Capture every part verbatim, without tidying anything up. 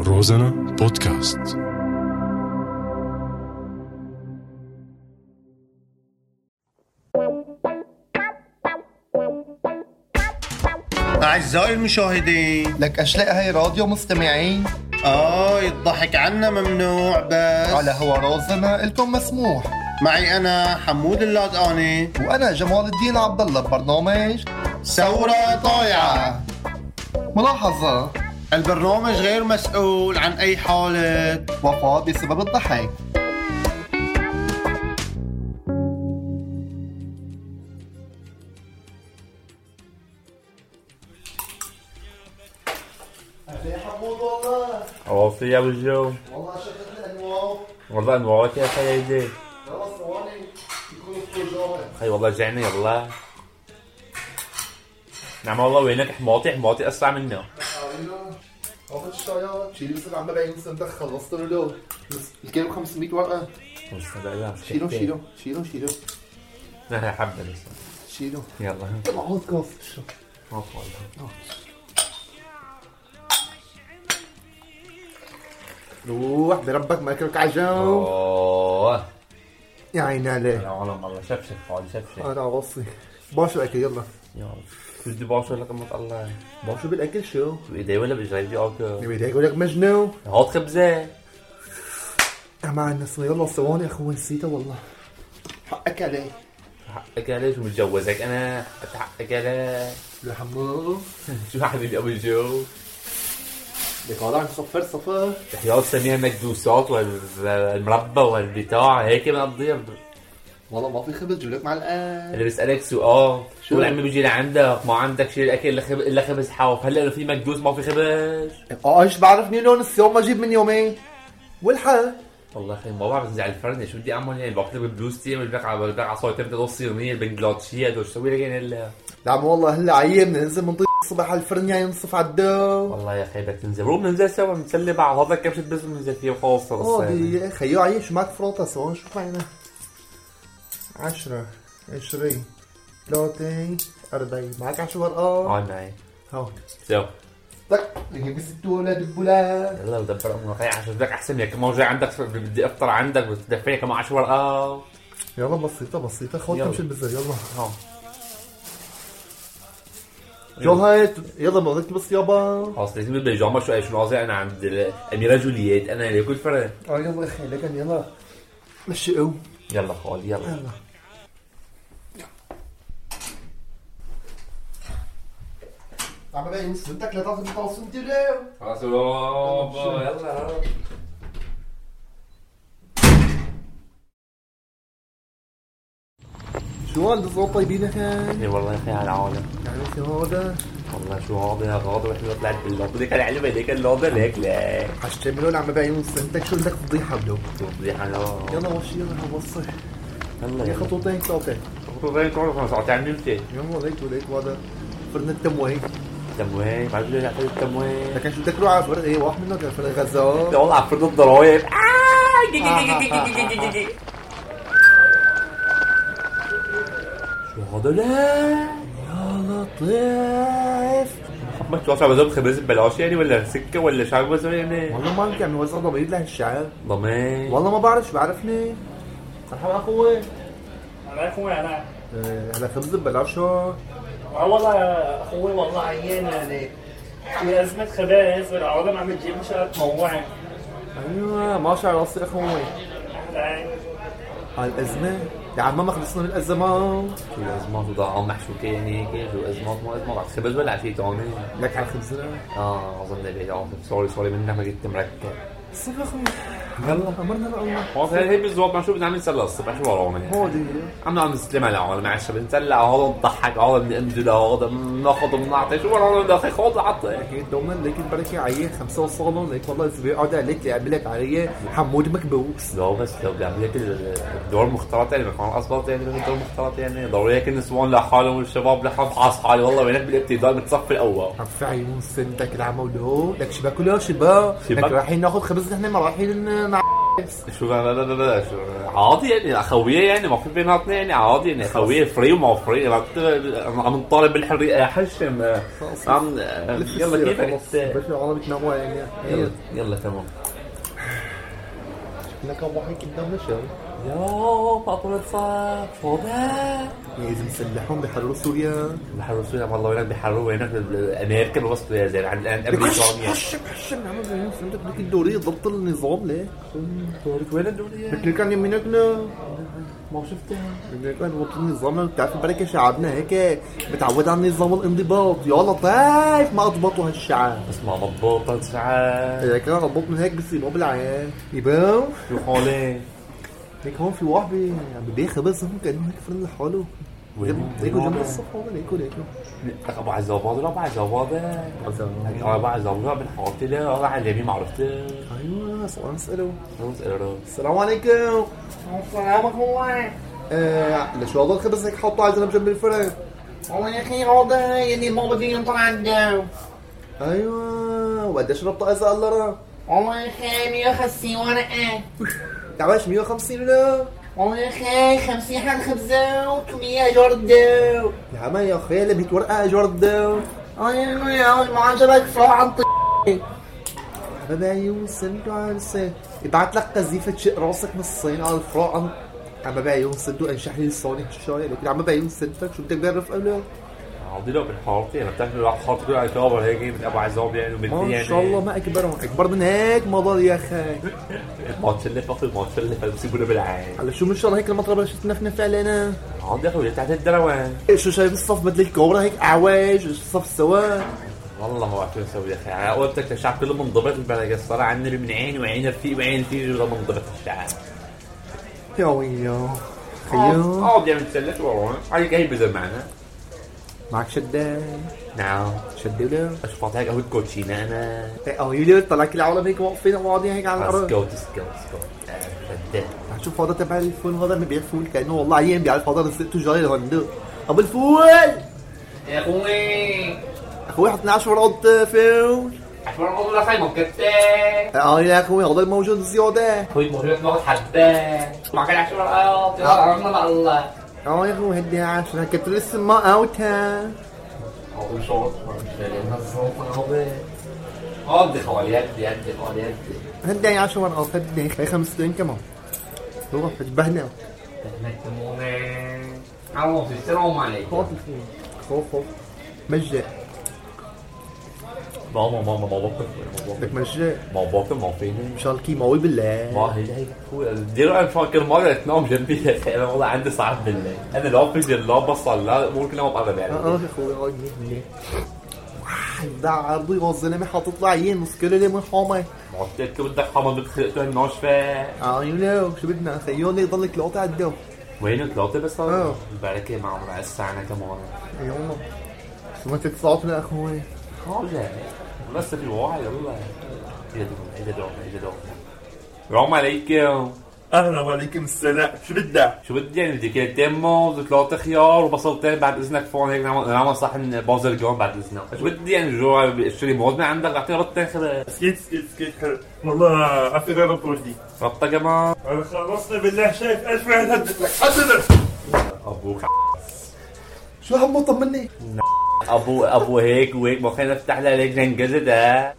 روزانا بودكاست. أعزائي المشاهدين، لك أشلاء هاي راديو مستمعين. آه الضحك عنا ممنوع، بس على هوا روزانا إلكم مسموح. معي أنا حمود اللادقاني وأنا جمال الدين عبد الله ببرنامج ثورة طايعة. ملاحظة: البرنامج غير مسؤول عن أي حالة وفاة بسبب الضحك. يا حمود والله عوافي يا ابو الجو. والله شفت الأنواع. والله انواعك يا خيدي. خلاص ثواني يكون الفجار. خي والله جعنا يلا. نعم والله وينك حماطي حماطي اسرع منا. اخذ الشايات شيلي بس عم ببين سنتك خلصت له الكيلو خمسمية ورقة. شيلو شيلو شيلو شيلو لا حبة لسه. شيلو يلا طلع عود كاف شو ما والله. روح بربك ما ياكلك عجو. اوه يا عيني عليه. انا والله والله شفشف خالي شفشف. انا غصي باشو اكل يلا. يلا بدي باشو لك ما تطلع. باشو بالاكل شو؟ بايدي ولا بجريدي اكل؟ بايديك يقول لك مجنون. هات خبزة. مع الناس يلا ثواني اخوي نسيته والله. حقك عليه. حقك عليه شو متجوزك انا؟ حقك عليه. يا حمود شو حبيبي ابو الجو؟ لك والله صفر صفر. تحيات سميها مكدوسات والمربى والبتاع هيك بنقضيها. والله ما في خبز جيب لك مع الآن. اللي بيسألك سؤال شو شو عمي بيجي لعندك ما عندك شيء الاكل الا خبز الا خبز حاف. هلا لو في مكدوس ما في خبز. اه ايش بعرفني لون اليوم ما اجيب من يومين والحق. والله اخي ما بعرف انزع الفرن شو بدي اعمل يعني بكتب بلوزتي والبقعه والبقعه صوتي بدي اوصي صينيه البنجلاديشيه هدول شو اسوي لك يعني هلا؟ لا والله هلا عيبنا ننزل من الصبح على الفرن يعني نصف على الدو. والله يا اخي بدك تنزل روح ننزل سوا نسلي بعض. هذا كبشه بس بننزل فيه وخلص اه دي خيو عيش معك فروطه سوا نشوف عينا. عشرة عشرين ثلاثين أربعين معك عشر ورقات. اه معي هون سوا طق نجيب ستة دبولات. يلا ودبر امك هي عشان بدك احسن لك كمان جاي عندك بدي افطر عندك بتدفعني كمان عشر ورقات. يلا بسيطة بسيطة خذ كم شي البزر يلا. ها شو هاي يلا ما بدك بس يابا. خلاص لازم بالبيجامه شو اي شو نازل انا عند الاميره جولييت انا اللي كل فرق. اه يلا اخي لكن يلا مشي قوم. يلا خالي يلا يلا عم بقى يمس بدك لا تاخذ الطاسه انت ليه. خلاص يابا يلا. شو هذا الصوت طيبين اخي؟ اي والله يا اخي على العالم. يعني شو هذا؟ والله شو هذا يا غاضب احنا طلعت بالله بدك العلم هذيك اللوضه ليك لا حشتملون عم بقى يمس انت شو بدك فضيحه بدو. فضيحه لا يلا وش يلا وصي يلا يا يا خطوتين ثلاثه خطوتين تعرف انا ساعتين عملتي يلا ليك وليك هذا فرن التموين. تموين بعد لي نعطي التموين لكن شو بدك تروح على فرن ايه واحد منهم كان فرن غزال. لا والله على فرن الضرايب. شو هذا لا يا لطيف. ما توصل بزوم خبز ببلاش يعني ولا سكه ولا شعب بس يعني والله ما يمكن نوزع ضمير لهالشعب. ضمين والله ما بعرف شو بعرفني. مرحبا اخوي. الله اخوي انا على خبز ببلاش شو؟ اه والله يا اخوي والله عيان يعني في ازمه خبز والعالم عم تجيب مشان تموعن. ايوه ماشي على راسي اخوي. اهلا هالازمه يا عم ما خلصنا من الازمات. شو الازمات وضاعوا محشوكه يعني هيك شو ازمات مو ازمات على خبز ولا على شيء ثاني؟ لك على خبزنا. اه اظن لي اه سوري سوري منك ما كنت مركز. صفر اخوي يلا امرنا لله. خلاص هي بالضبط ما شو بدنا نعمل نسلى الصبح شو ورانا يعني هودي عم نعمل نسلم على العالم مع الشباب نسلع هذا نضحك هذا بننزل هذا بناخذ بنعطي شو ورانا بدي اخي خذ عطي اكيد دوما ليك البركه عيه خمسه وصالون ليك والله اسبوع قاعد عليك لعب لك علي حمود مكبوس. لا بس لو بيعمل لك الدور مختلط يعني بكون اصبط يعني الدور مختلط يعني ضروري هيك النسوان لحالهم والشباب لحالهم حاس حالي والله وينك بالابتدائي بتصفي الاول عفا عيون سنتك العمى ولو لك شباب كلها شباب لك رايحين ناخذ خبز نحن ما رايحين شو لا لا لا لا شو عادي يعني اخويه يعني ما في بيناتنا يعني عادي يعني اخويه فري وما فري عم نطالب بالحريه يا حشم عم يلا كيفك بس العالم بتناموا يعني يلا يلا تمام لك ابو حي قدامنا شو يا بطلت صار فوضى لازم يسلحون بيحرروا سوريا بحروا سوريا والله وينك بحروا وينك امريكا بوصلوا يا زين عند امريكانيا حشم حشم نعمل زين فهمتك بدك الدوري ضبط النظام ليه وين الدورية بدك كان يمينكنا ما شفتها بدك كان ضبط النظام بتعرف البركه شعبنا هيك متعود على النظام الانضباط يا لطيف ما اضبطوا هالشعب بس ما مضبوطة ساعات اذا كان ضبط من هيك بصيبوا بالعين يبان شو حالي هيك هون في واحد بي عم ببيع خبز هون كانه هيك فرن لحاله وين هيكو جنب الصف هون هيكو هيكو ابو عزوباد ولا ابو عزوباد ابو عزوباد من حارتي له والله على اليمين ما عرفته ايوه سؤال نساله نسأله السلام عليكم السلام عليكم. آه ليش هذا الخبز هيك حاطه على جنب جنب الفرن والله يا اخي هذا يعني ما بدي ينطر عنده. ايوه وقديش ربطه اذا الله را والله يا اخي مية وخمسين ورقة. تعباش مية وخمسين ولا والله يا اخي خمسين حد خبزة وكمية جردة. يا عم يا اخي اللي مية ورقه جرده ايوه يا ما عجبك فراح عن طي. حبايبي عيون سندو على الصين يبعت لك قذيفه شق راسك من الصين على الفراق عن عم بعيون سندو انشح لي لساني هالشاي لكن عم بعيون سندك شو بدك بعرف قبله عادي لو بالحارتي انا بتعرف لو حاطط كل على كابر هيك من ابو عزوب يعني وبدي يعني ما شاء الله ما اكبرهم اكبر من هيك ما ضل يا اخي ما تشلف اخي ما تشلف بسيبونا بالعين على شو من شاء الله هيك المطرب بلشت تنفنف علينا عادي يا اخوي تحت الدروان شو شايف الصف بدل الكوبرا هيك اعواج الصف سوا والله ما بعرف شو نسوي يا اخي انا قلت الشعب كله منضبط البلد صار عندنا من عين وعين رفيق وعين رفيق ولا منضبط الشعب يا ويلو خيو عادي يعني نتسلف والله هاي هي بزر معنا معك شدة نعم شدة ولا اشفط هيك قهوة كوتشينا انا اه ويلو طلع كل العالم هيك واقفين قاعدين هيك على الارض سكوت سكوت سكوت شدة شوف هذا تبع الفول هذا اللي بيبيع فول كانه والله عيان بيعرف هذا رزقته جاي لهندو ابو الفول يا اخوي اخوي حطنا عشر ورقات فول عشان اقول لك هاي مكتة. اه يا اخوي هذا الموجود زياده اخوي موجود ناخذ حبة. ما كان عشان ورقات يلا رحمة الله. اه يا اخوي هدي عشرة كنت لسه ما اوتها اقول شوط مش لنا الصوت هذا. هادي خوالي هدي هدي خوالي هدي. هدي عشر ورقات هدي هي خمستين كمان روح تشبهنا نكتمونا. عمو السلام عليكم. خوف الفول خوف خوف مجد ماما ماما ما باكل ما بدك مجد ما باكل ما فيني ان شاء الله كيماوي بالله ما هي هي ديروا انا فاكر مره تنام جنبي انا والله عندي صعب بالله انا لا في لا بصل لا ممكن انام ابدا يعني اه يا اخوي هاي منيح واحد ده عرضي والزلمه حاطط له عين نص كيلو ليمون حامي ما قلت لك بدك حمض بتخلقته الناشفه اه يلو شو بدنا خيوني يضلك لقطه على الدو وين ثلاثه بس اه البركه مع مع الساعه كمان يلا شو ما تتصاطنا اخوي حاجه بس في واحد يلا ايه ده ايه ده ايه ده السلام عليكم اهلا وعليكم السلام شو بدك؟ شو بدي يعني بدي كيلتين موز وثلاثة خيار وبصلتين بعد اذنك فون هيك نعمل نعمل صحن بازرجون بعد اذنك شو بدي يعني جوا اشتري موز من عندك اعطيني ربطتين خبز سكيت سكيت سكيت حلو والله عفوا غير بوردي ربطة كمان انا خلصنا بالله شايف ألف واحد هدت لك حدد ابوك شو هم طمني ابو ابو هيك وهيك ما خلينا نفتح لها ليك جنجزت ها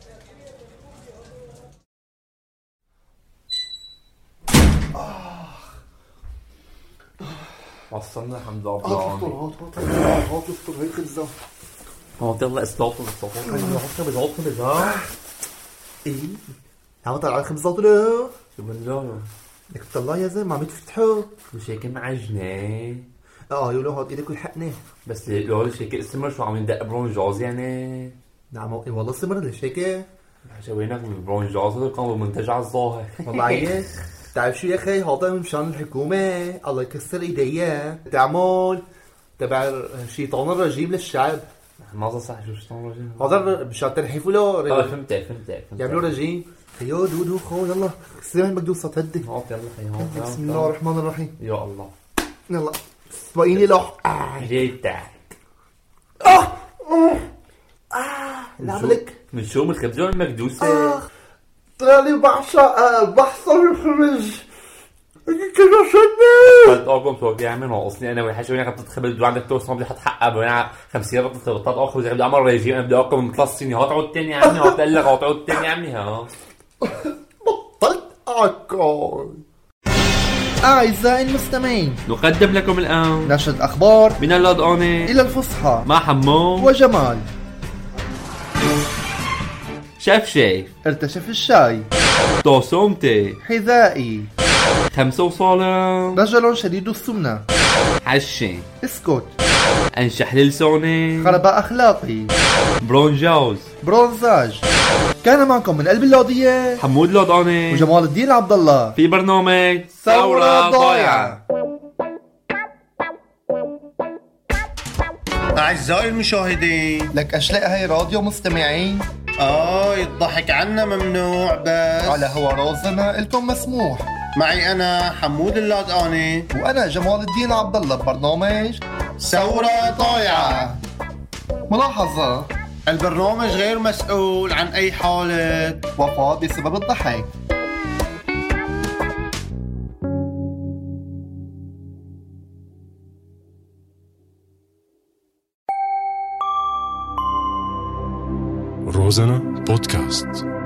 وصلنا الحمد لله هات هات هات هات افطر هيك الزو هات يلا اسلوط اسلوط هات بزعط بزعط ايه عم طلع على خبزات ولا شو بنجاوب بدك تطلع يا زلمه عم تفتحه مش هيك معجنة اه يقولوا هات ايدك والحقني بس لو ليش هيك اسمر شو عم يندق برونجاز يعني نعم والله سمر ليش هيك شويناك من برونجاز هذا كان منتج على الظاهر والله عيش تعرف شو يا اخي هذا مشان الحكومه الله يكسر ايديها تعمل تبع الشيطان الرجيم للشعب ما صح شو شلون رجيم هذا مشان ترحيفوا له اه فهمتك فهمتك يعملوا رجيم خيو دودو خو يلا كسر هاي مقدوسه تهدي هات يلا خي بسم الله الرحمن الرحيم يا الله يلا سبقيني لوح جيتك اه اه اه لعملك من شو من الخبزة المكدوسة أنا بعشق بحصل الخبز. كده شدني. قلت أقوم توقع منه ناقصني أنا والحاجة وين قد تخبز بدو عندك توصل بدي حتحقق بين خمسين ربط تغطات آخر زي بدي أعمل ريجيم أنا بدي أقوم من ثلاث سنين هتعود تاني يا عمي هتقول لك هتعود تاني يا عمي ها. بطلت أكل. أعزائي المستمعين نقدم لكم الآن نشرة أخبار من اللادقانة إلى الفصحى مع حمو وجمال. شاف شايف ارتشف الشاي توسومتي حذائي خمسة وصالة رجل شديد السمنة حشين اسكت انشح للسوني خرباء أخلاقي برونجاوز برونزاج. كان معكم من قلب اللوضية حمود لادقانة وجمال الدين عبد الله في برنامج ثورة ضايعة. أعزائي المشاهدين، لك أشلاء هاي راديو مستمعين آه الضحك عنا ممنوع بس على هوا رازنا إلكم مسموح. معي أنا حمود اللادقاني وأنا جمال الدين عبد الله ببرنامج ثورة ضايعة. ملاحظة: البرنامج غير مسؤول عن أي حالة وفاة بسبب الضحك. روزانا بودكاست.